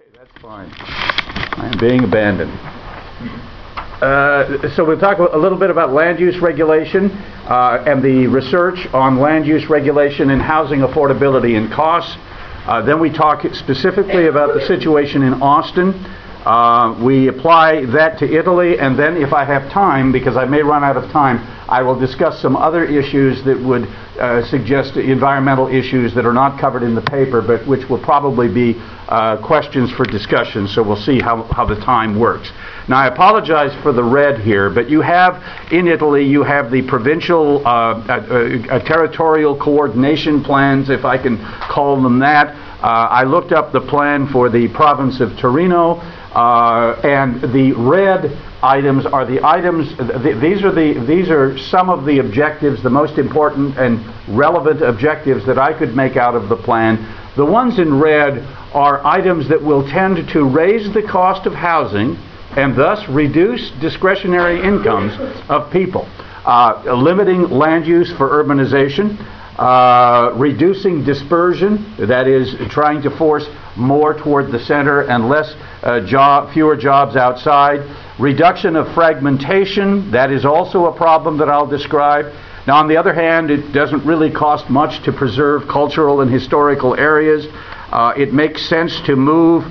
That's fine. I am being abandoned. So we'll talk a little bit about land use regulation and the research on land use regulation and housing affordability and costs. Then we talk specifically about the situation in Austin. We apply that to Italy, and then if I have time, because I may run out of time, I will discuss some other issues that would suggest environmental issues that are not covered in the paper, but which will probably be questions for discussion, so we'll see how the time works. Now, I apologize for the red here, but you have, in Italy, you have the provincial territorial coordination plans, if I can call them that. I looked up the plan for the province of Torino, and the red items are the items, these are some of the objectives, the most important and relevant objectives that I could make out of the plan. The ones in red are items that will tend to raise the cost of housing and thus reduce discretionary incomes of people. Limiting land use for urbanization, reducing dispersion, that is, trying to force more toward the center and fewer jobs outside. Reduction of fragmentation, that is also a problem that I'll describe. Now, on the other hand, it doesn't really cost much to preserve cultural and historical areas. It makes sense to move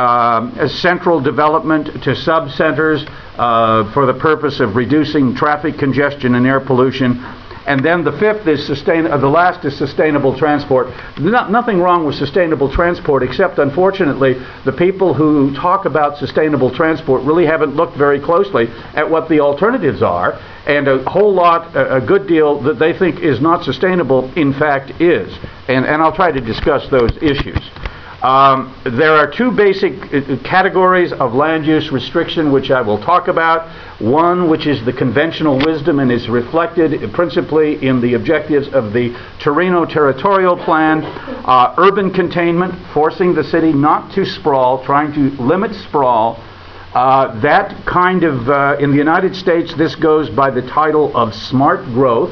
central development to sub-centers for the purpose of reducing traffic congestion and air pollution. And then the fifth is the last is sustainable transport. Nothing wrong with sustainable transport, except unfortunately the people who talk about sustainable transport really haven't looked very closely at what the alternatives are, and a good deal that they think is not sustainable in fact is. And I'll try to discuss those issues. There are two basic categories of land use restriction which I will talk about. One which is the conventional wisdom and is reflected principally in the objectives of the Torino Territorial Plan. Urban containment, forcing the city not to sprawl, trying to limit sprawl. That kind of, in the United States, this goes by the title of smart growth.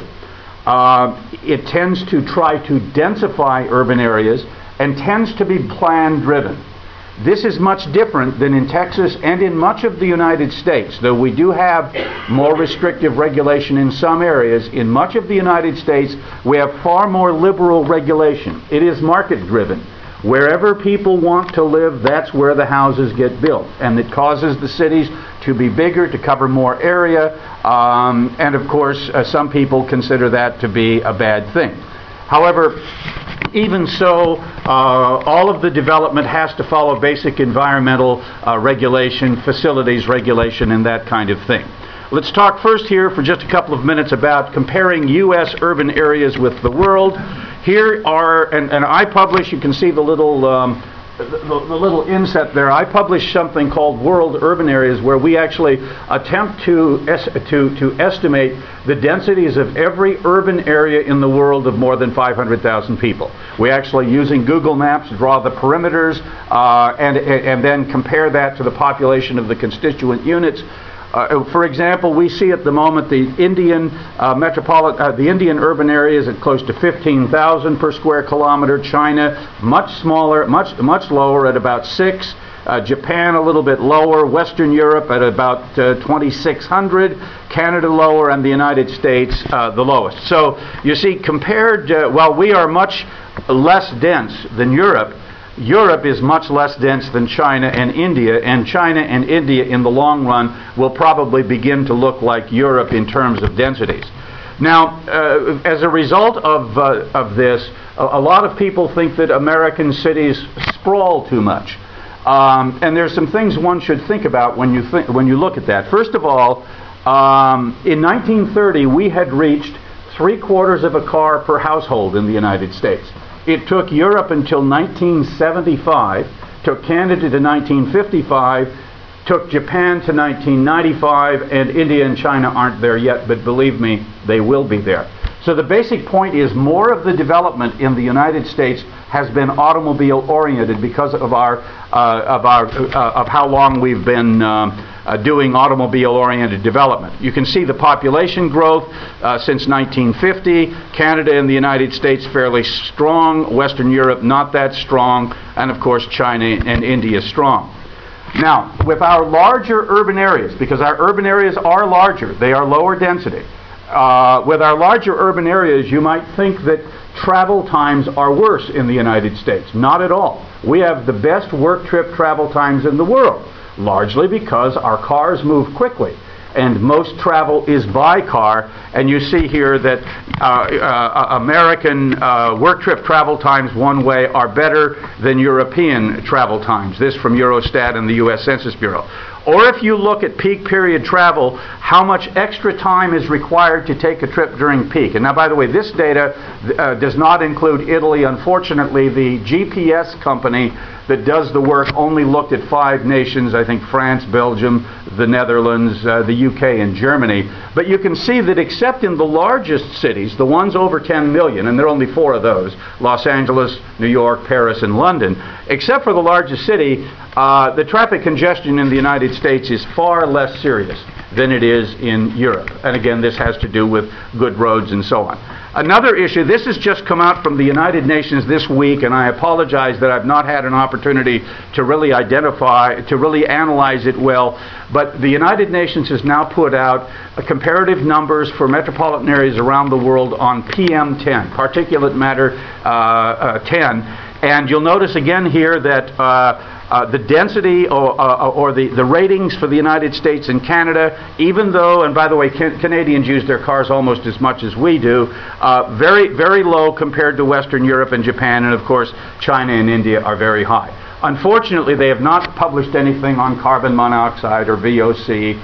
It tends to try to densify urban areas and tends to be plan-driven. This is much different than in Texas and in much of the United States. Though we do have more restrictive regulation in some areas, in much of the United States we have far more liberal regulation. It is market-driven. Wherever people want to live, that's where the houses get built. And it causes the cities to be bigger, to cover more area, and of course some people consider that to be a bad thing. However, even so, all of the development has to follow basic environmental regulation, facilities regulation, and that kind of thing. Let's talk first here for just a couple of minutes about comparing U.S. urban areas with the world. Here are, and I publish, you can see the little inset there. I publish something called World Urban Areas, where we actually attempt to estimate the densities of every urban area in the world of more than 500,000 people. We actually, using Google Maps, draw the perimeters and then compare that to the population of the constituent units. For example, we see at the moment the Indian urban areas at close to 15,000 per square kilometer. China much smaller, much lower at about 6. Japan a little bit lower. Western Europe at about 2,600. Canada lower, and the United States the lowest. So you see, compared, while we are much less dense than Europe, Europe is much less dense than China and India, and China and India in the long run will probably begin to look like Europe in terms of densities. Now, as a result of this, a lot of people think that American cities sprawl too much. And there's some things one should think about when you look at that. First of all, in 1930 we had reached 3/4 of a car per household in the United States. It took Europe until 1975, took Canada to 1955 Took Japan to 1995, and India and China aren't there yet, but believe me, they will be there. So the basic point is more of the development in the United States has been automobile oriented because of how long we've been doing automobile oriented development. You can see the population growth since 1950. Canada and the United States fairly strong, Western Europe not that strong, and of course China and India strong. Now, with our larger urban areas, because our urban areas are larger, they are lower density. With our larger urban areas, you might think that travel times are worse in the United States. Not at all. We have the best work trip travel times in the world, largely because our cars move quickly. And most travel is by car, and you see here that American work trip travel times one way are better than European travel times. This from Eurostat and the U.S. Census Bureau. Or if you look at peak period travel, how much extra time is required to take a trip during peak. And now, by the way, this data does not include Italy. Unfortunately, the GPS company that does the work only looked at 5 nations, I think France, Belgium, the Netherlands, the UK, and Germany. But you can see that except in the largest cities, the ones over 10 million, and there are only 4 of those, Los Angeles, New York, Paris, and London, except for the largest city, the traffic congestion in the United States is far less serious than it is in Europe. And again, this has to do with good roads and so on. Another issue, this has just come out from the United Nations this week, and I apologize that I've not had an opportunity to really analyze it well, but the United Nations has now put out comparative numbers for metropolitan areas around the world on PM10, particulate matter 10, and you'll notice again here that the density or the ratings for the United States and Canada, even though, and by the way, Canadians use their cars almost as much as we do, very, very low compared to Western Europe and Japan, and of course China and India are very high. Unfortunately, they have not published anything on carbon monoxide or VOC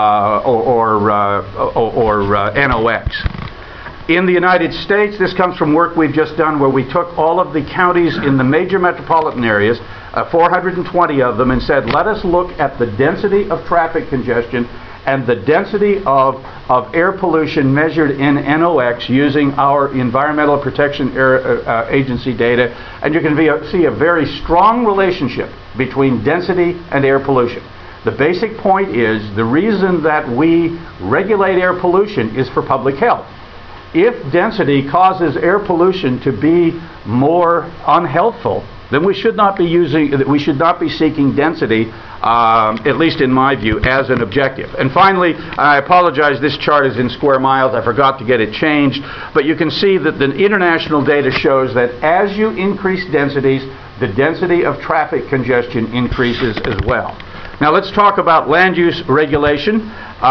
or NOx. In the United States, this comes from work we've just done where we took all of the counties in the major metropolitan areas, 420 of them, and said, let us look at the density of traffic congestion and the density of air pollution measured in NOx using our Environmental Protection Agency data, and you can see a very strong relationship between density and air pollution. The basic point is the reason that we regulate air pollution is for public health. If density causes air pollution to be more unhealthful, then we should not be seeking density, at least in my view, as an objective. And finally, I apologize, this chart is in square miles. I forgot to get it changed. But you can see that the international data shows that as you increase densities, the density of traffic congestion increases as well. Now let's talk about land use regulation.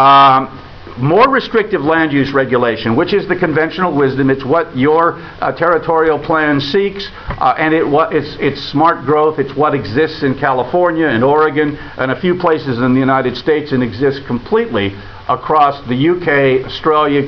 More restrictive land use regulation, which is the conventional wisdom. It's what your territorial plan seeks, and it's smart growth. It's what exists in California and Oregon and a few places in the United States, and exists completely across the UK, Australia,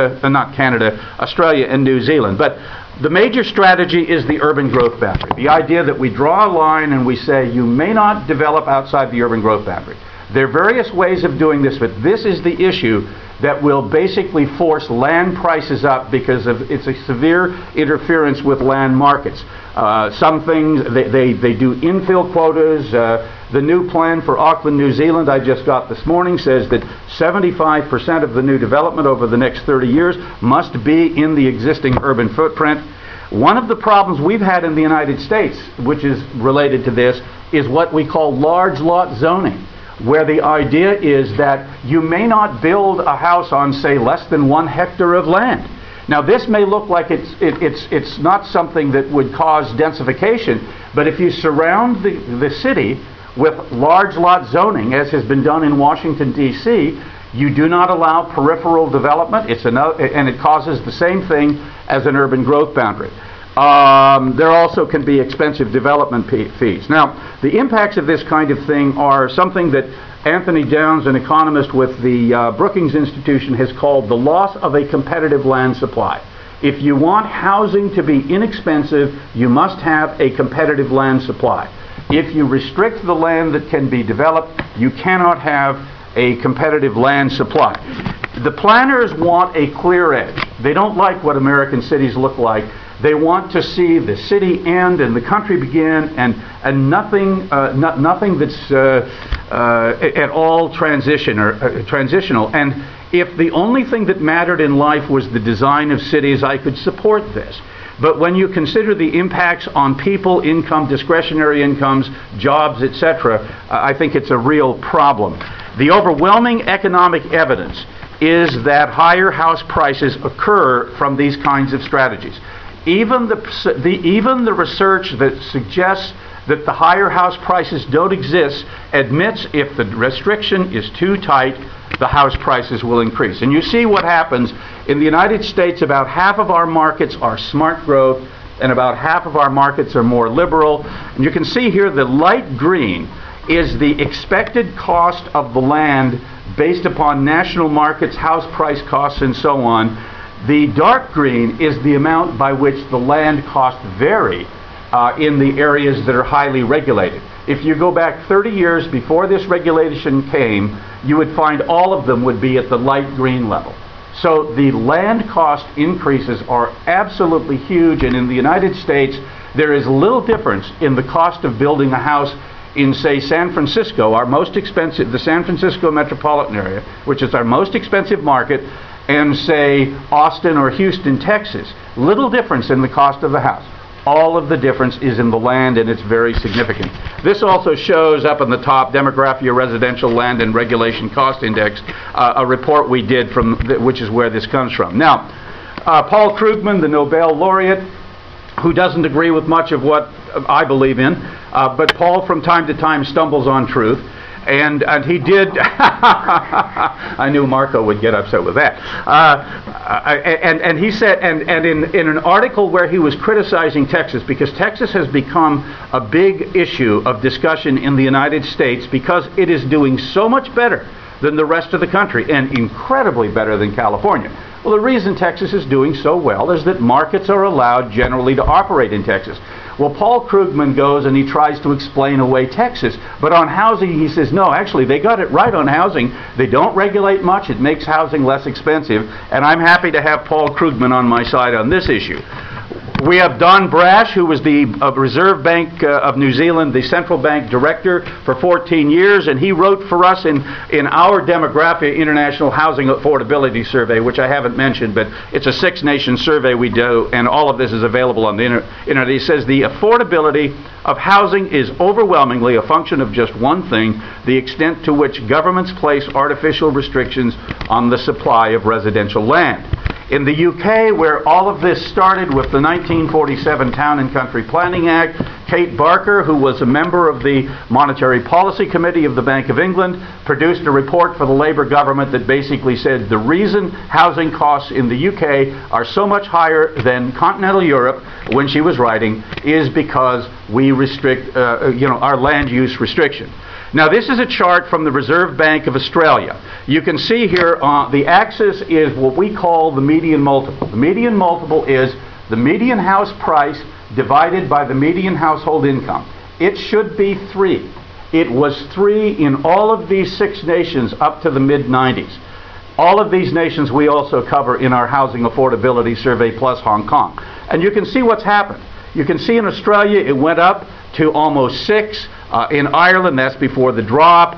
Australia and New Zealand. But the major strategy is the urban growth boundary. The idea that we draw a line and we say you may not develop outside the urban growth boundary. There are various ways of doing this, but this is the issue that will basically force land prices up because it's a severe interference with land markets. Some things, they do infill quotas. The new plan for Auckland, New Zealand, I just got this morning, says that 75% of the new development over the next 30 years must be in the existing urban footprint. One of the problems we've had in the United States, which is related to this, is what we call large lot zoning, where the idea is that you may not build a house on, say, less than 1 hectare of land. Now, this may look like it's not something that would cause densification, but if you surround the city with large lot zoning, as has been done in Washington, D.C., you do not allow peripheral development, and it causes the same thing as an urban growth boundary. There also can be expensive development fees. Now, the impacts of this kind of thing are something that Anthony Downs, an economist with the Brookings Institution, has called the loss of a competitive land supply. If you want housing to be inexpensive, you must have a competitive land supply. If you restrict the land that can be developed, you cannot have a competitive land supply. The planners want a clear edge. They don't like what American cities look like. They want to see the city end and the country begin, and nothing that's at all transitional. And if the only thing that mattered in life was the design of cities, I could support this. But when you consider the impacts on people, income, discretionary incomes, jobs, etc., I think it's a real problem. The overwhelming economic evidence is that higher house prices occur from these kinds of strategies. Even the research that suggests that the higher house prices don't exist admits if the restriction is too tight, the house prices will increase. And you see what happens in the United States. About half of our markets are smart growth, and about half of our markets are more liberal. And you can see here the light green is the expected cost of the land based upon national markets, house price costs, and so on. The dark green is the amount by which the land costs vary in the areas that are highly regulated. If you go back 30 years before this regulation came, you would find all of them would be at the light green level. So the land cost increases are absolutely huge, and in the United States there is little difference in the cost of building a house in, say, San Francisco, our most expensive, the San Francisco metropolitan area, which is our most expensive market, and say Austin or Houston, Texas. Little difference in the cost of the house. All of the difference is in the land, and it's very significant. This also shows up on the top, Demographia Residential Land and Regulation Cost Index, a report we did from, which is where this comes from. Now, Paul Krugman, the Nobel laureate, who doesn't agree with much of what I believe in, but Paul from time to time stumbles on truth. And he did. I knew Marco would get upset with that. And he said, and in an article where he was criticizing Texas, because Texas has become a big issue of discussion in the United States because it is doing so much better than the rest of the country, and incredibly better than California. Well, the reason Texas is doing so well is that markets are allowed generally to operate in Texas. Well, Paul Krugman goes and he tries to explain away Texas, but on housing he says, no, actually they got it right on housing. They don't regulate much. It makes housing less expensive, and I'm happy to have Paul Krugman on my side on this issue. We have Don Brash, who was the Reserve Bank of New Zealand, the central bank director for 14 years, and he wrote for us in our Demographia International Housing Affordability Survey, which I haven't mentioned, but it's a 6-nation survey we do, and all of this is available on the internet. He says the affordability of housing is overwhelmingly a function of just one thing: the extent to which governments place artificial restrictions on the supply of residential land. In the UK, where all of this started with the 1947 Town and Country Planning Act, Kate Barker, who was a member of the Monetary Policy Committee of the Bank of England, produced a report for the Labour government that basically said the reason housing costs in the UK are so much higher than continental Europe, when she was writing, is because we restrict our land use restriction. Now, this is a chart from the Reserve Bank of Australia. You can see here the axis is what we call the median multiple. The median multiple is the median house price divided by the median household income. It should be 3. It was 3 in all of these 6 nations up to the mid-90s. All of these nations we also cover in our Housing Affordability Survey, plus Hong Kong. And you can see what's happened. You can see in Australia it went up to almost 6. In Ireland, that's before the drop.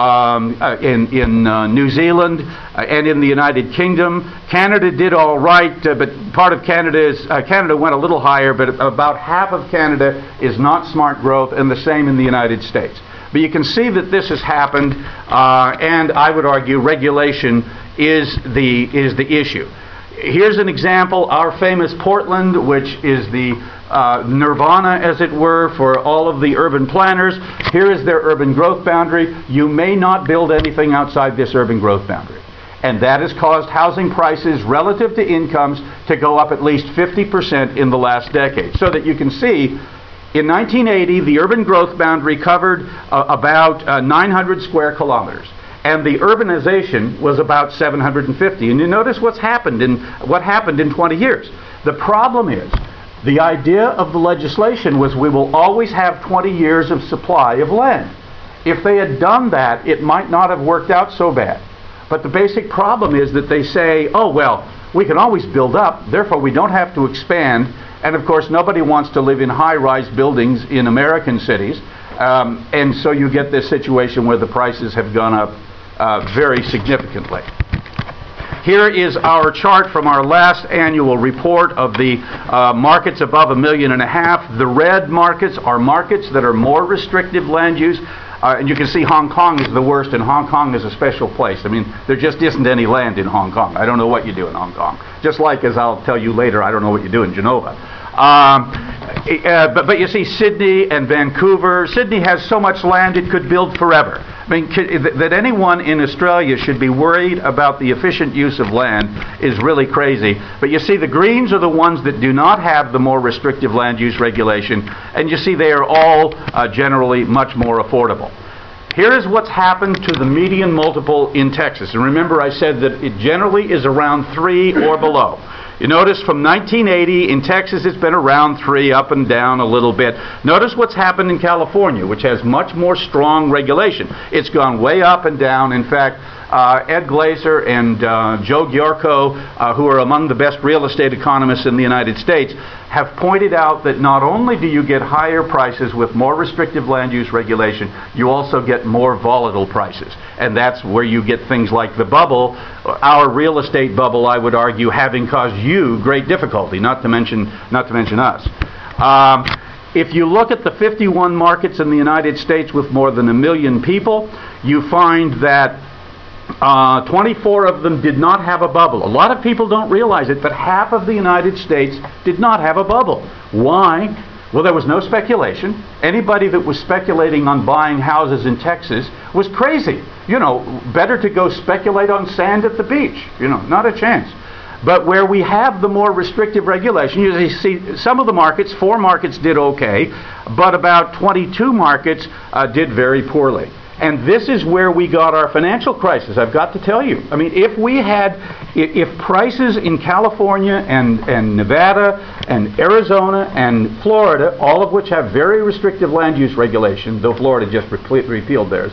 In New Zealand and in the United Kingdom, Canada did all right, but part of Canada went a little higher, but about half of Canada is not smart growth, and the same in the United States. But you can see that this has happened, and I would argue regulation is the issue. Here's an example: our famous Portland, which is the nirvana, as it were, for all of the urban planners. Here is their urban growth boundary. You may not build anything outside this urban growth boundary. And that has caused housing prices relative to incomes to go up at least 50% in the last decade. So that you can see, in 1980, the urban growth boundary covered about 900 square kilometers. And the urbanization was about 750. And you notice what happened in 20 years. The problem is, The idea of the legislation was we will always have 20 years of supply of land. If they had done that, it might not have worked out so bad. But the basic problem is that they say, oh, well, we can always build up, therefore we don't have to expand. And of course, nobody wants to live in high-rise buildings in American cities. And so you get this situation where the prices have gone up very significantly. Here is our chart from our last annual report of the markets above $1.5 million. The red markets are markets that are more restrictive land use. And you can see Hong Kong is the worst, and Hong Kong is a special place. I mean, there just isn't any land in Hong Kong. I don't know what you do in Hong Kong. Just like, as I'll tell you later, I don't know what you do in Genova. But you see Sydney and Vancouver. Sydney has so much land it could build forever. I mean, that anyone in Australia should be worried about the efficient use of land is really crazy. But you see the greens are the ones that do not have the more restrictive land use regulation, and you see they are all generally much more affordable. Here is what's happened to the median multiple in Texas. And remember, I said that it generally is around 3 or below. You notice from 1980 in Texas it's been around 3, up and down a little bit. Notice what's happened in California, which has much more strong regulation. It's gone way up and down. In fact, Ed Glazer and Joe Giorco, who are among the best real estate economists in the United States, have pointed out that not only do you get higher prices with more restrictive land use regulation, you also get more volatile prices. And that's where you get things like the bubble, our real estate bubble, I would argue, having caused you great difficulty, not to mention us. If you look at the 51 markets in the United States with more than 1 million people, you find that 24 of them did not have a bubble. A lot of people don't realize it, but half of the United States did not have a bubble. Why? Well, there was no speculation. Anybody that was speculating on buying houses in Texas was crazy. You know, better to go speculate on sand at the beach. You know, not a chance. But where we have the more restrictive regulation, you see some of the markets, 4 markets did okay, but about 22 markets did very poorly. And this is where we got our financial crisis, I've got to tell you. I mean, if prices in California and Nevada and Arizona and Florida, all of which have very restrictive land use regulation, though Florida just repealed theirs,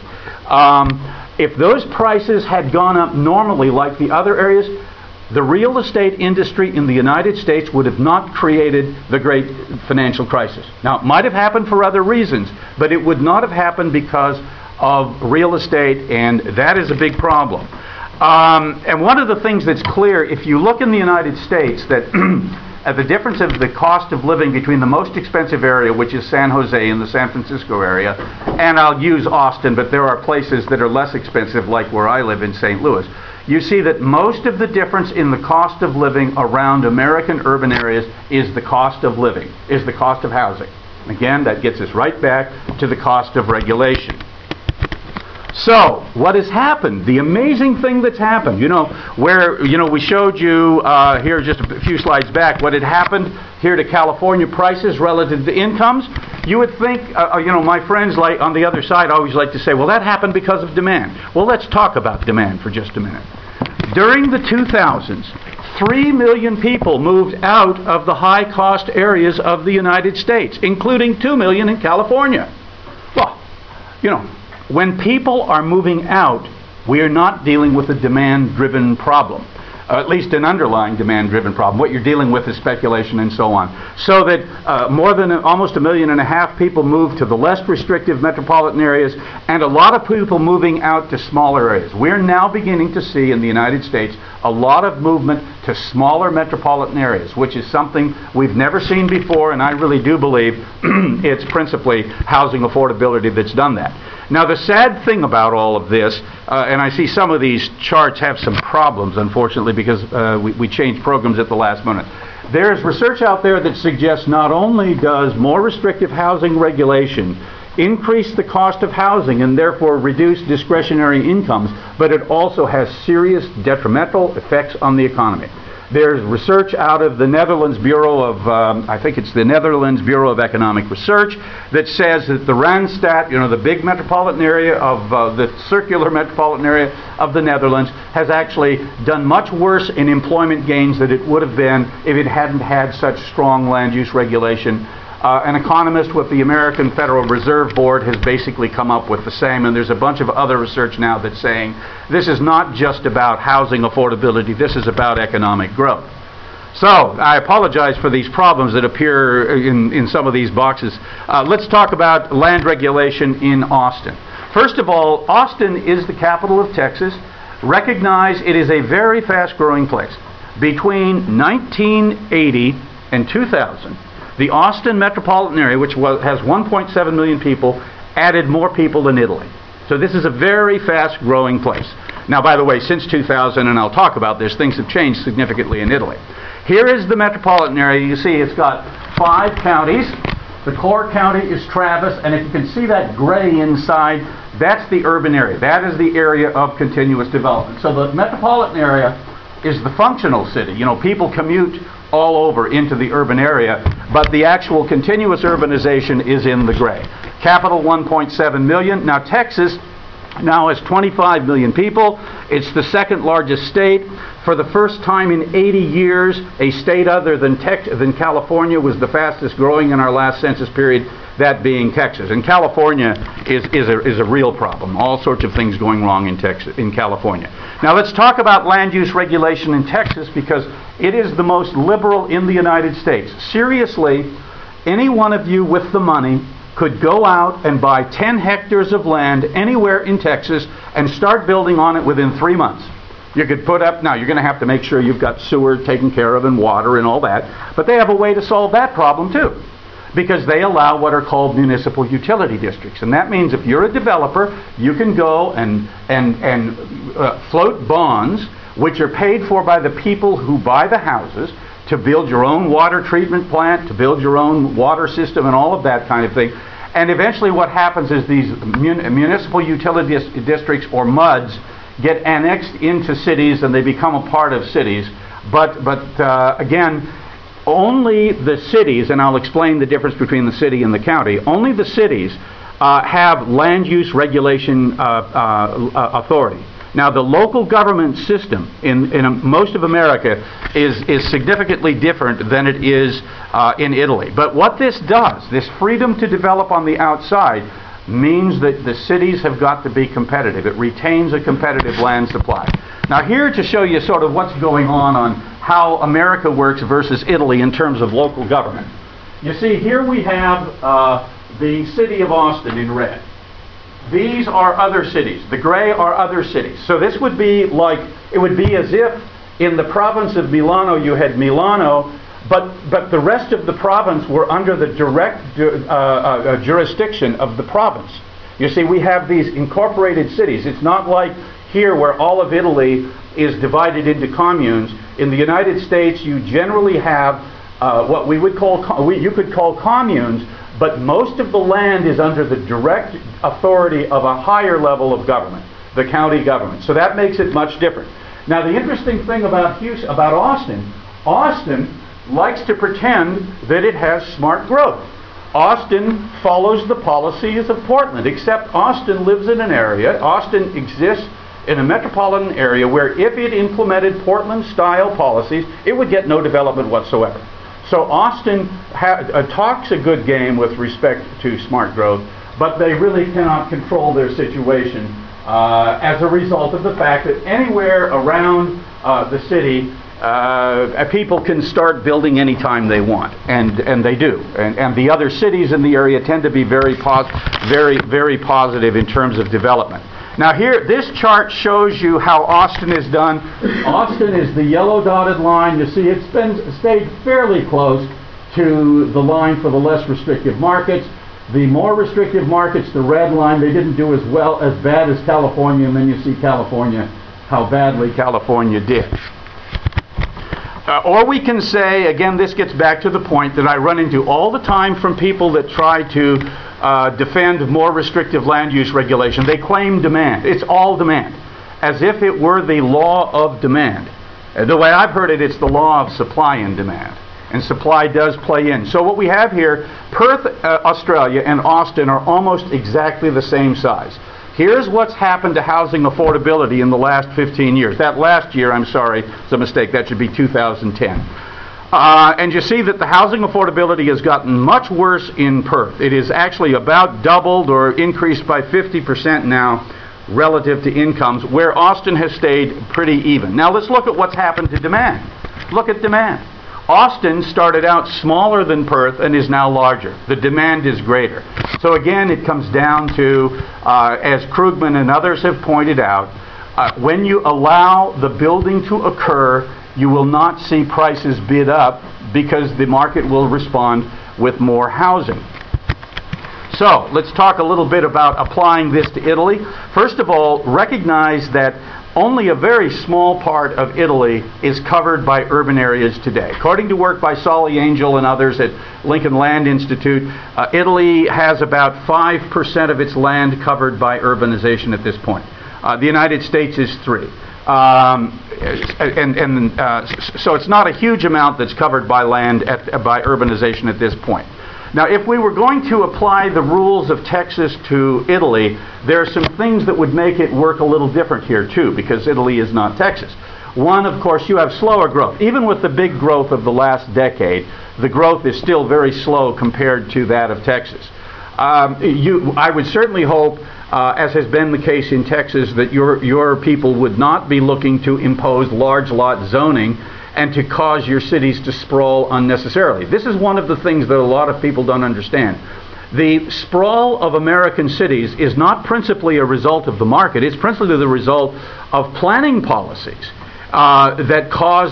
if those prices had gone up normally like the other areas, the real estate industry in the United States would have not created the great financial crisis. Now, it might have happened for other reasons, but it would not have happened because of real estate, and that is a big problem. And one of the things that's clear, if you look in the United States, that the difference of the cost of living between the most expensive area, which is San Jose in the San Francisco area, and I'll use Austin, but there are places that are less expensive, like where I live in St. Louis, you see that most of the difference in the cost of living around American urban areas is the cost of living, is the cost of housing. Again, that gets us right back to the cost of regulation. So, what has happened? The amazing thing that's happened, we showed you here just a few slides back what had happened here to California prices relative to incomes. You would think, my friends like on the other side always like to say, well, that happened because of demand. Well, let's talk about demand for just a minute. During the 2000s, 3 million people moved out of the high-cost areas of the United States, including 2 million in California. Well, when people are moving out, we are not dealing with a demand-driven problem, at least an underlying demand-driven problem. What you're dealing with is speculation and so on. So that more than almost 1.5 million people moved to the less restrictive metropolitan areas, and a lot of people moving out to smaller areas. We're now beginning to see in the United States a lot of movement to smaller metropolitan areas, which is something we've never seen before, and I really do believe it's principally housing affordability that's done that. Now, the sad thing about all of this, and I see some of these charts have some problems, unfortunately, because we changed programs at the last minute. There's research out there that suggests not only does more restrictive housing regulation increase the cost of housing and therefore reduce discretionary incomes, but it also has serious detrimental effects on the economy. There's research out of the Netherlands Bureau of, I think it's the Netherlands Bureau of Economic Research, that says that the Randstad, the big metropolitan area of the circular metropolitan area of the Netherlands, has actually done much worse in employment gains than it would have been if it hadn't had such strong land use regulation. An economist with the American Federal Reserve Board has basically come up with the same, and there's a bunch of other research now that's saying this is not just about housing affordability, this is about economic growth. So, I apologize for these problems that appear in some of these boxes. Let's talk about land regulation in Austin. First of all, Austin is the capital of Texas. Recognize it is a very fast-growing place. Between 1980 and 2000, the Austin metropolitan area, which has 1.7 million people, added more people than Italy. So this is a very fast-growing place. Now, by the way, since 2000, and I'll talk about this, things have changed significantly in Italy. Here is the metropolitan area. You see it's got 5 counties. The core county is Travis, and if you can see that gray inside, that's the urban area. That is the area of continuous development. So the metropolitan area is the functional city. People commute all over into the urban area, but the actual continuous urbanization is in the gray. Capital 1.7 million. Now Texas now has 25 million people. It's the second largest state. For the first time in 80 years, a state other than California was the fastest growing in our last census period, that being Texas. And California is a real problem. All sorts of things going wrong in California. Now let's talk about land use regulation in Texas, because it is the most liberal in the United States. Seriously, any one of you with the money could go out and buy 10 hectares of land anywhere in Texas and start building on it within 3 months. You could put up, now you're going to have to make sure you've got sewer taken care of and water and all that, but they have a way to solve that problem too, because they allow what are called municipal utility districts. And that means if you're a developer, you can go and float bonds, which are paid for by the people who buy the houses, to build your own water treatment plant, to build your own water system and all of that kind of thing. And eventually what happens is these municipal utility districts, or MUDs, get annexed into cities and they become a part of cities. But again, only the cities, and I'll explain the difference between the city and the county, only the cities have land use regulation authority. Now, the local government system in most of America is significantly different than it is in Italy. But what this does, this freedom to develop on the outside, means that the cities have got to be competitive. It retains a competitive land supply. Now, here to show you sort of what's going on how America works versus Italy in terms of local government. You see, here we have the city of Austin in red. These are other cities. The gray are other cities. So this would be like, it would be as if in the province of Milano you had Milano, but the rest of the province were under the direct jurisdiction of the province. You see, we have these incorporated cities. It's not like here where all of Italy is divided into communes. In the United States, you generally have what we would call, you could call communes, but most of the land is under the direct authority of a higher level of government, the county government. So that makes it much different. Now, the interesting thing about Austin, Austin likes to pretend that it has smart growth. Austin follows the policies of Portland, except Austin lives in an area, Austin exists in a metropolitan area where if it implemented Portland-style policies, it would get no development whatsoever. So Austin talks a good game with respect to smart growth, but they really cannot control their situation as a result of the fact that anywhere around the city, people can start building anytime they want, and they do. And the other cities in the area tend to be very positive in terms of development. Now here, this chart shows you how Austin is done. Austin is the yellow dotted line. You see it's stayed fairly close to the line for the less restrictive markets. The more restrictive markets, the red line, they didn't do as bad as California, and then you see California, how badly California did. Or we can say, again, this gets back to the point that I run into all the time from people that try to defend more restrictive land use regulation. They claim demand. It's all demand, as if it were the law of demand. The way I've heard it, it's the law of supply and demand. And supply does play in. So what we have here, Perth, Australia, and Austin are almost exactly the same size. Here's what's happened to housing affordability in the last 15 years. That last year, I'm sorry, it's a mistake. That should be 2010. And you see that the housing affordability has gotten much worse in Perth. It is actually about doubled or increased by 50% now relative to incomes, where Austin has stayed pretty even. Now let's look at what's happened to demand. Look at demand. Austin started out smaller than Perth and is now larger. The demand is greater. So again, it comes down to, as Krugman and others have pointed out, when you allow the building to occur, you will not see prices bid up because the market will respond with more housing. So let's talk a little bit about applying this to Italy. First of all, recognize that only a very small part of Italy is covered by urban areas today. According to work by Solly Angel and others at Lincoln Land Institute, Italy has about 5% of its land covered by urbanization at this point. The United States is 3%. So it's not a huge amount that's covered by land by urbanization at this point. Now, if we were going to apply the rules of Texas to Italy, there are some things that would make it work a little different here, too, because Italy is not Texas. One, of course, you have slower growth. Even with the big growth of the last decade, the growth is still very slow compared to that of Texas. I would certainly hope, as has been the case in Texas, that your people would not be looking to impose large lot zoning and to cause your cities to sprawl unnecessarily. This is one of the things that a lot of people don't understand. The sprawl of American cities is not principally a result of the market, it's principally the result of planning policies that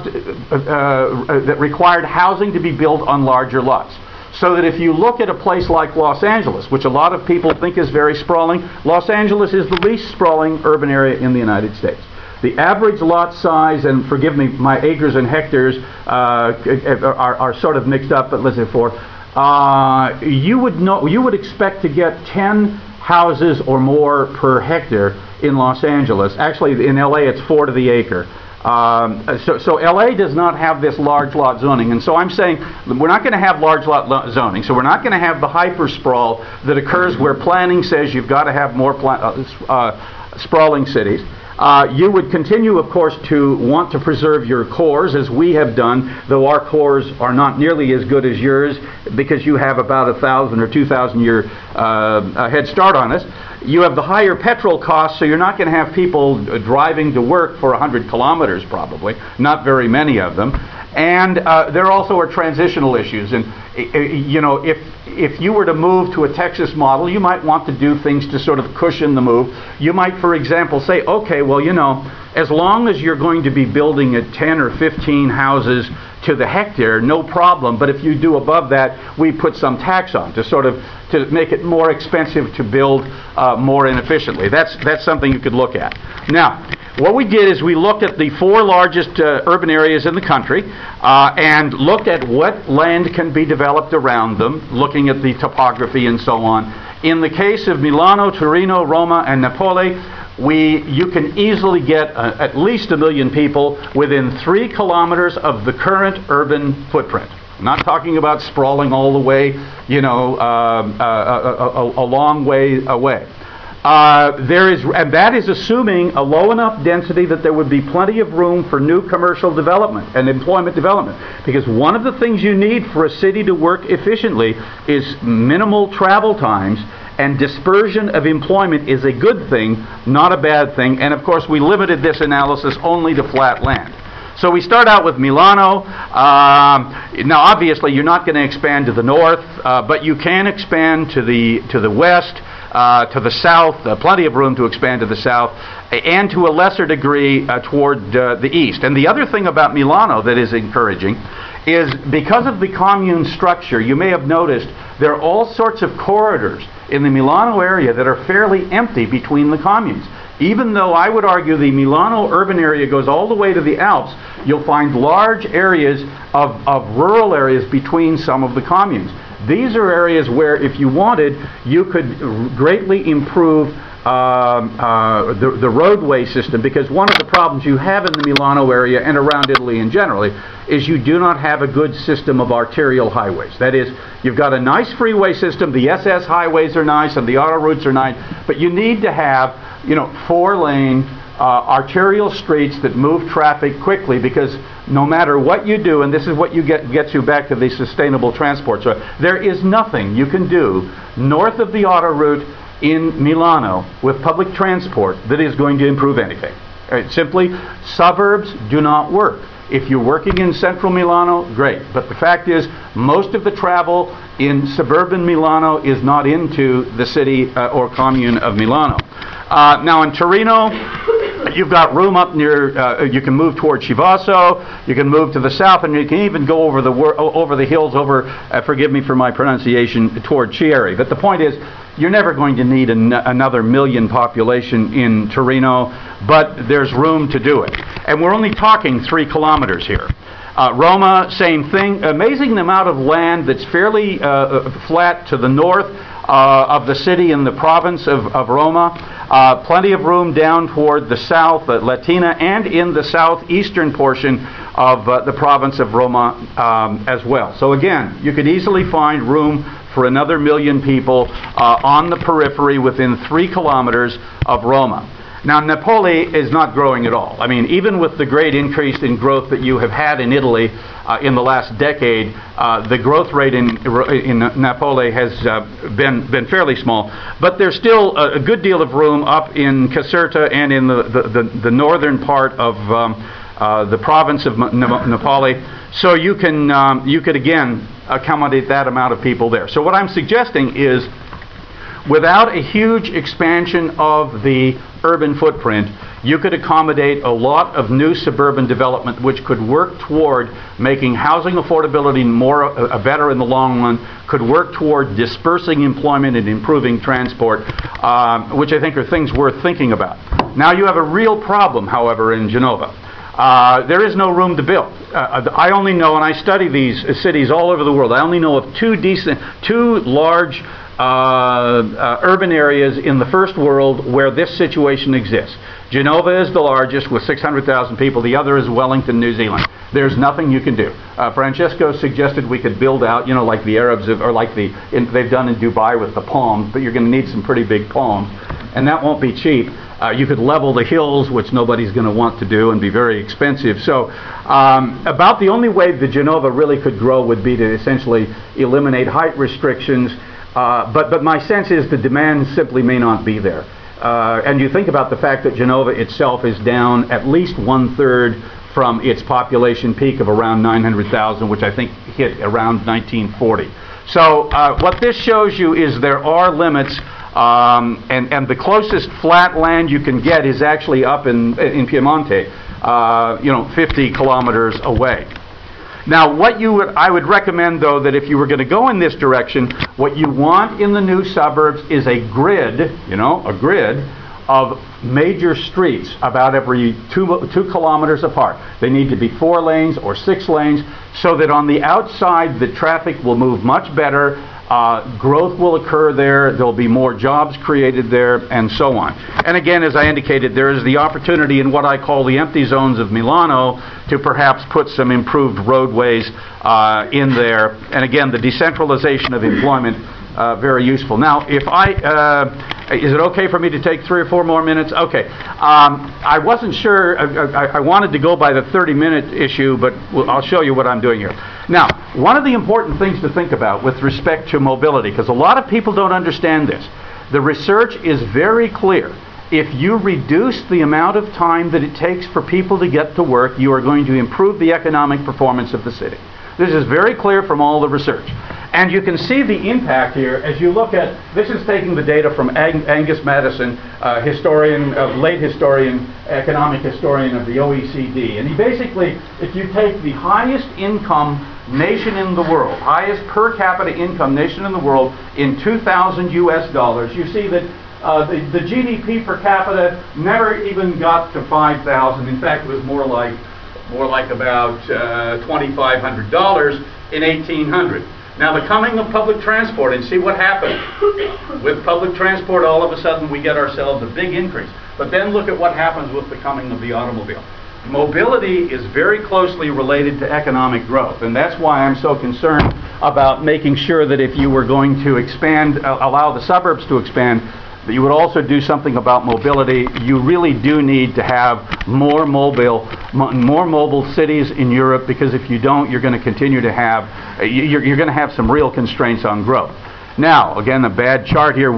required housing to be built on larger lots. So that if you look at a place like Los Angeles, which a lot of people think is very sprawling, Los Angeles is the least sprawling urban area in the United States. The average lot size, and forgive me, my acres and hectares are sort of mixed up, but let's say 4. You would expect to get 10 houses or more per hectare in Los Angeles. Actually, in LA, it's 4 to the acre. So LA does not have this large lot zoning, and so I'm saying we're not going to have large lot zoning, so we're not going to have the hyper sprawl that occurs where planning says you've got to have more sprawling cities. You would continue, of course, to want to preserve your cores, as we have done, though our cores are not nearly as good as yours because you have about 1,000 or 2,000 year head start on us. You have the higher petrol costs, so you're not going to have people driving to work for 100 kilometers probably, not very many of them. And there also are transitional issues. And you know, if you were to move to a Texas model, you might want to do things to sort of cushion the move. You might, for example, say, okay, well, you know, as long as you're going to be building at 10 or 15 houses to the hectare, no problem. But if you do above that, we put some tax on to make it more expensive to build more inefficiently. That's something you could look at. Now, what we did is we looked at the 4 largest urban areas in the country and looked at what land can be developed around them, looking at the topography and so on. In the case of Milano, Torino, Roma, and Napoli, you can easily get at least 1 million people within 3 kilometers of the current urban footprint. I'm not talking about sprawling all the way, you know, a long way away. And that is assuming a low enough density that there would be plenty of room for new commercial development and employment development. Because one of the things you need for a city to work efficiently is minimal travel times, and dispersion of employment is a good thing, not a bad thing. And of course, we limited this analysis only to flat land. So we start out with Milano. Now, obviously, you're not going to expand to the north, but you can expand to the west. To the south, plenty of room to expand to the south, and to a lesser degree toward the east. And the other thing about Milano that is encouraging is because of the commune structure, you may have noticed there are all sorts of corridors in the Milano area that are fairly empty between the communes. Even though I would argue the Milano urban area goes all the way to the Alps, you'll find large areas of rural areas between some of the communes. These are areas where, if you wanted, you could greatly improve the roadway system, because one of the problems you have in the Milano area and around Italy in general is you do not have a good system of arterial highways. That is, you've got a nice freeway system, the SS highways are nice and the auto routes are nice, but you need to have, you know, 4-lane arterial streets that move traffic quickly, because no matter what you do, and this is what you gets you back to the sustainable transport. So there is nothing you can do north of the auto route in Milano with public transport that is going to improve anything. Simply, suburbs do not work. If you're working in central Milano, great. But the fact is, most of the travel in suburban Milano is not into the city or commune of Milano. Now in Torino, you've got room up near, you can move toward Chivasso, you can move to the south, and you can even go over the hills over, forgive me for my pronunciation, toward Chieri. But the point is, you're never going to need another million population in Torino, but there's room to do it. And we're only talking 3 kilometers here. Roma, same thing. Amazing amount of land that's fairly flat to the north of the city in the province of Roma. Plenty of room down toward the south, Latina, and in the southeastern portion of the province of Roma as well. So again, you could easily find room for another million people on the periphery within 3 kilometers of Roma. Now, Napoli is not growing at all. I mean, even with the great increase in growth that you have had in Italy in the last decade, the growth rate in Napoli has been fairly small. But there's still a good deal of room up in Caserta and in the northern part of the province of Napoli. So you could again accommodate that amount of people there. So what I'm suggesting is, without a huge expansion of the urban footprint, you could accommodate a lot of new suburban development which could work toward making housing affordability better in the long run, could work toward dispersing employment and improving transport, which I think are things worth thinking about. Now you have a real problem, however, in Genova. There is no room to build. I only know, and I study these cities all over the world, I only know of two large urban areas in the first world where this situation exists. Genova is the largest with 600,000 people. The other is Wellington, New Zealand. There's nothing you can do. Francesco suggested we could build out, you know, like the Arabs have, or like they've done in Dubai with the palms, but you're going to need some pretty big palms, and that won't be cheap. You could level the hills, which nobody's going to want to do, and be very expensive. So about the only way that Genova really could grow would be to essentially eliminate height restrictions. But my sense is the demand simply may not be there. And you think about the fact that Genova itself is down at least 1/3 from its population peak of around 900,000, which I think hit around 1940. So what this shows you is there are limits, and the closest flat land you can get is actually up in Piemonte, 50 kilometers away. Now, I would recommend, though, that if you were going to go in this direction, what you want in the new suburbs is a grid, a grid of major streets about every 2 kilometers apart. They need to be 4 lanes or 6 lanes, so that on the outside the traffic will move much better. Growth will occur there, there'll be more jobs created there, and so on. And again, as I indicated, there is the opportunity in what I call the empty zones of Milano to perhaps put some improved roadways in there. And again, the decentralization of employment, very useful. Now, if is it okay for me to take 3 or 4 more minutes? Okay. I wasn't sure, I wanted to go by the 30-minute issue, but I'll show you what I'm doing here. Now, one of the important things to think about with respect to mobility, because a lot of people don't understand this, the research is very clear. If you reduce the amount of time that it takes for people to get to work, you are going to improve the economic performance of the city. This is very clear from all the research. And you can see the impact here as you look at, this is taking the data from Angus Maddison, late historian, economic historian of the OECD. And he basically, if you take the highest income nation in the world, highest per capita income nation in the world in 2,000 US dollars, you see that the GDP per capita never even got to 5,000. In fact, it was more like about $2,500 in 1800. Now the coming of public transport, and see what happened. With public transport, all of a sudden we get ourselves a big increase. But then look at what happens with the coming of the automobile. Mobility is very closely related to economic growth, and that's why I'm so concerned about making sure that if you were going to expand, allow the suburbs to expand, that you would also do something about mobility. You really do need to have more mobile cities in Europe, because if you don't, you're going to continue to have, you're going to have some real constraints on growth. Now, again, a bad chart here.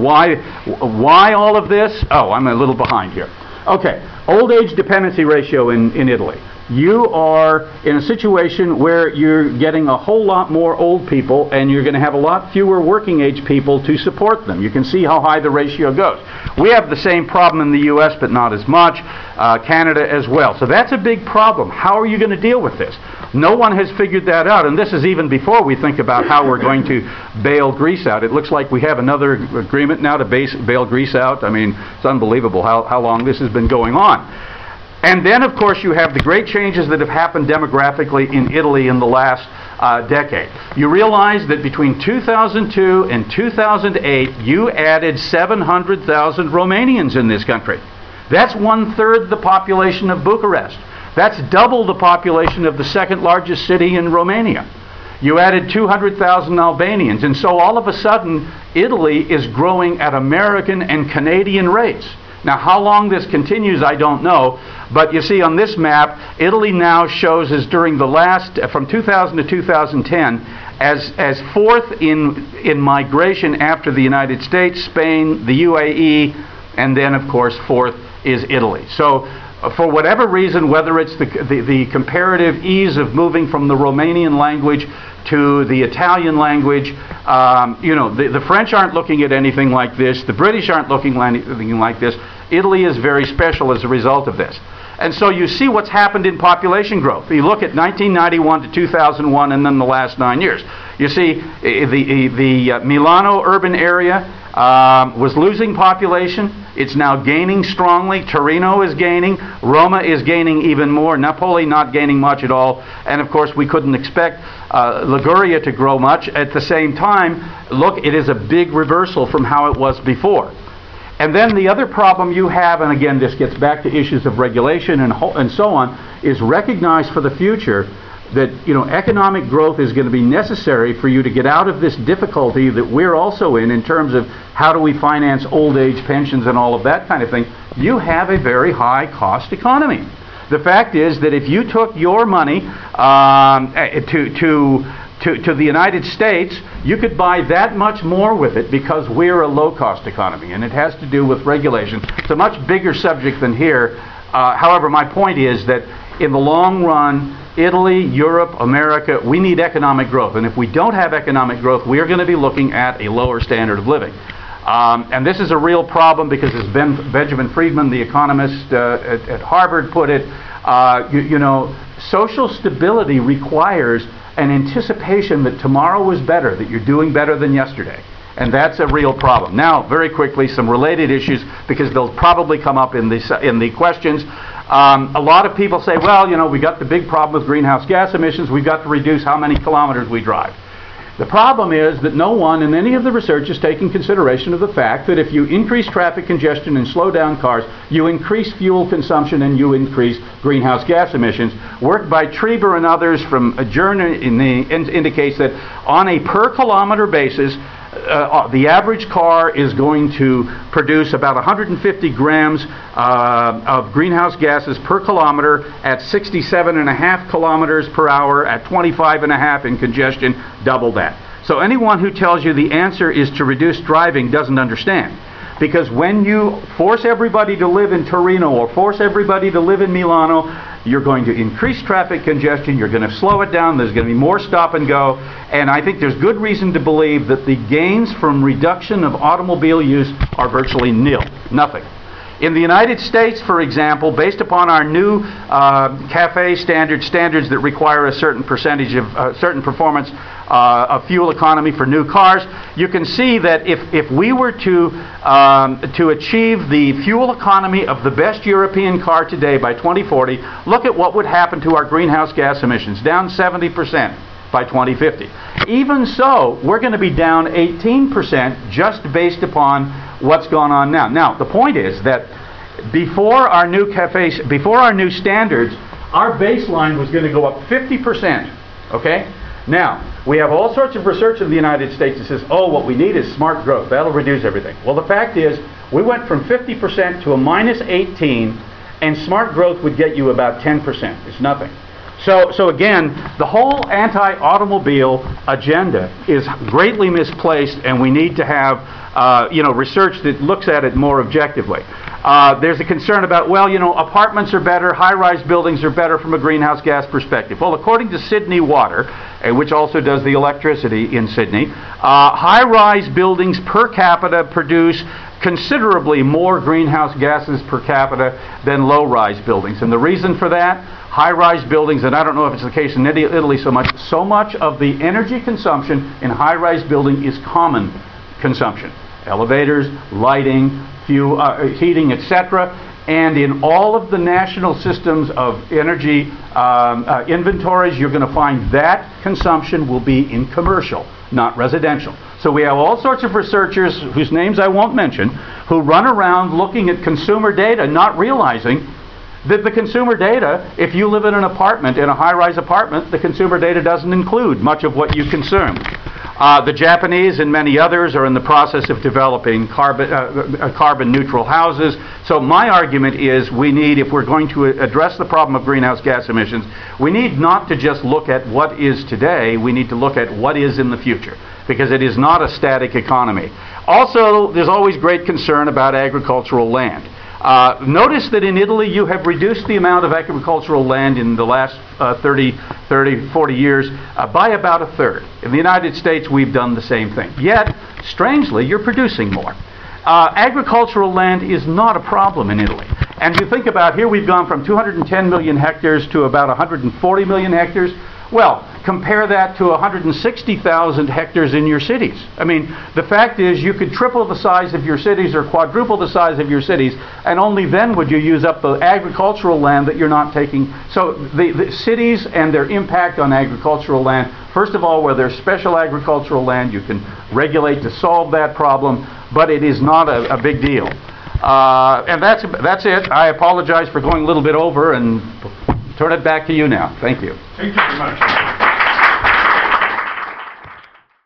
Why all of this? Oh, I'm a little behind here. Okay, old age dependency ratio in Italy. You are in a situation where you're getting a whole lot more old people, and you're going to have a lot fewer working age people to support them. You can see how high the ratio goes. We have the same problem in the U.S., but not as much. Canada as well. So that's a big problem. How are you going to deal with this? No one has figured that out, and this is even before we think about how we're going to bail Greece out. It looks like we have another agreement now to bail Greece out. I mean, it's unbelievable how long this has been going on. And then, of course, you have the great changes that have happened demographically in Italy in the last decade. You realize that between 2002 and 2008, you added 700,000 Romanians in this country. That's 1/3 the population of Bucharest. That's double the population of the second largest city in Romania. You added 200,000 Albanians, and so all of a sudden, Italy is growing at American and Canadian rates. Now, how long this continues, I don't know, but you see on this map, Italy now shows as during the last, from 2000 to 2010, as fourth in migration after the United States, Spain, the UAE, and then, of course, fourth is Italy. So, for whatever reason, whether it's the comparative ease of moving from the Romanian language to the Italian language, the French aren't looking at anything like this. The British aren't looking at anything like this. Italy is very special as a result of this. And so you see what's happened in population growth. You look at 1991 to 2001 and then the last 9 years. You see the Milano urban area was losing population. It's now gaining strongly. Torino is gaining. Roma is gaining even more. Napoli not gaining much at all. And of course, we couldn't expect Liguria to grow much. At the same time, look, it is a big reversal from how it was before. And then the other problem you have, and again, this gets back to issues of regulation and so on, is recognize for the future that economic growth is going to be necessary for you to get out of this difficulty that we're also in terms of how do we finance old age pensions and all of that kind of thing. You have a very high cost economy. The fact is that if you took your money to the United States, you could buy that much more with it because we're a low-cost economy, and it has to do with regulation. It's a much bigger subject than here. However, my point is that in the long run, Italy, Europe, America, we need economic growth. And if we don't have economic growth, we are going to be looking at a lower standard of living. And this is a real problem because, as Benjamin Friedman, the economist at Harvard, put it, social stability requires an anticipation that tomorrow is better, that you're doing better than yesterday. And that's a real problem. Now, very quickly, some related issues, because they'll probably come up in the questions. A lot of people say, well, we got the big problem with greenhouse gas emissions. We've got to reduce how many kilometers we drive. The problem is that no one in any of the research is taking consideration of the fact that if you increase traffic congestion and slow down cars, you increase fuel consumption and you increase greenhouse gas emissions. Work by Trieber and others from Adjourn indicates that on a per kilometer basis, the average car is going to produce about 150 grams of greenhouse gases per kilometer at 67.5 kilometers per hour at 25.5 in congestion, double that. So anyone who tells you the answer is to reduce driving doesn't understand. Because when you force everybody to live in Torino or force everybody to live in Milano, you're going to increase traffic congestion, you're going to slow it down, there's going to be more stop and go, and I think there's good reason to believe that the gains from reduction of automobile use are virtually nil, nothing. In the United States, for example, based upon our new CAFE standards that require a certain percentage of certain performance of fuel economy for new cars, you can see that if we were to achieve the fuel economy of the best European car today by 2040, look at what would happen to our greenhouse gas emissions, down 70%. by 2050. Even so, we're going to be down 18% just based upon what's gone on now. Now, the point is that before our new standards, our baseline was going to go up 50%. Okay? Now, we have all sorts of research in the United States that says, oh, what we need is smart growth. That'll reduce everything. Well, the fact is, we went from 50% to a minus 18, and smart growth would get you about 10%. It's nothing. So again, the whole anti-automobile agenda is greatly misplaced, and we need to have research that looks at it more objectively. There's a concern about, well, apartments are better, high-rise buildings are better from a greenhouse gas perspective. Well, according to Sydney Water, which also does the electricity in Sydney, high-rise buildings per capita produce considerably more greenhouse gases per capita than low-rise buildings. And the reason for that, high-rise buildings, and I don't know if it's the case in Italy so much of the energy consumption in high-rise building is common consumption. Elevators, lighting, heating, etc. And in all of the national systems of energy inventories, you're going to find that consumption will be in commercial, not residential. So we have all sorts of researchers, whose names I won't mention, who run around looking at consumer data, not realizing that the consumer data, if you live in an apartment, in a high-rise apartment, the consumer data doesn't include much of what you consume. The Japanese and many others are in the process of developing carbon-neutral houses. So my argument is we need, if we're going to address the problem of greenhouse gas emissions, we need not to just look at what is today, we need to look at what is in the future, because it is not a static economy. Also, there's always great concern about agricultural land. Notice that in Italy you have reduced the amount of agricultural land in the last 40 years by about a third. In the United States we've done the same thing. Yet, strangely, you're producing more. Agricultural land is not a problem in Italy. And you think about, here we've gone from 210 million hectares to about 140 million hectares. Well, compare that to 160,000 hectares in your cities. I mean, the fact is you could triple the size of your cities or quadruple the size of your cities, and only then would you use up the agricultural land that you're not taking. So the cities and their impact on agricultural land, first of all, where there's special agricultural land, you can regulate to solve that problem, but it is not a big deal. And that's it. I apologize for going a little bit over, and turn it back to you now. Thank you. Thank you very much.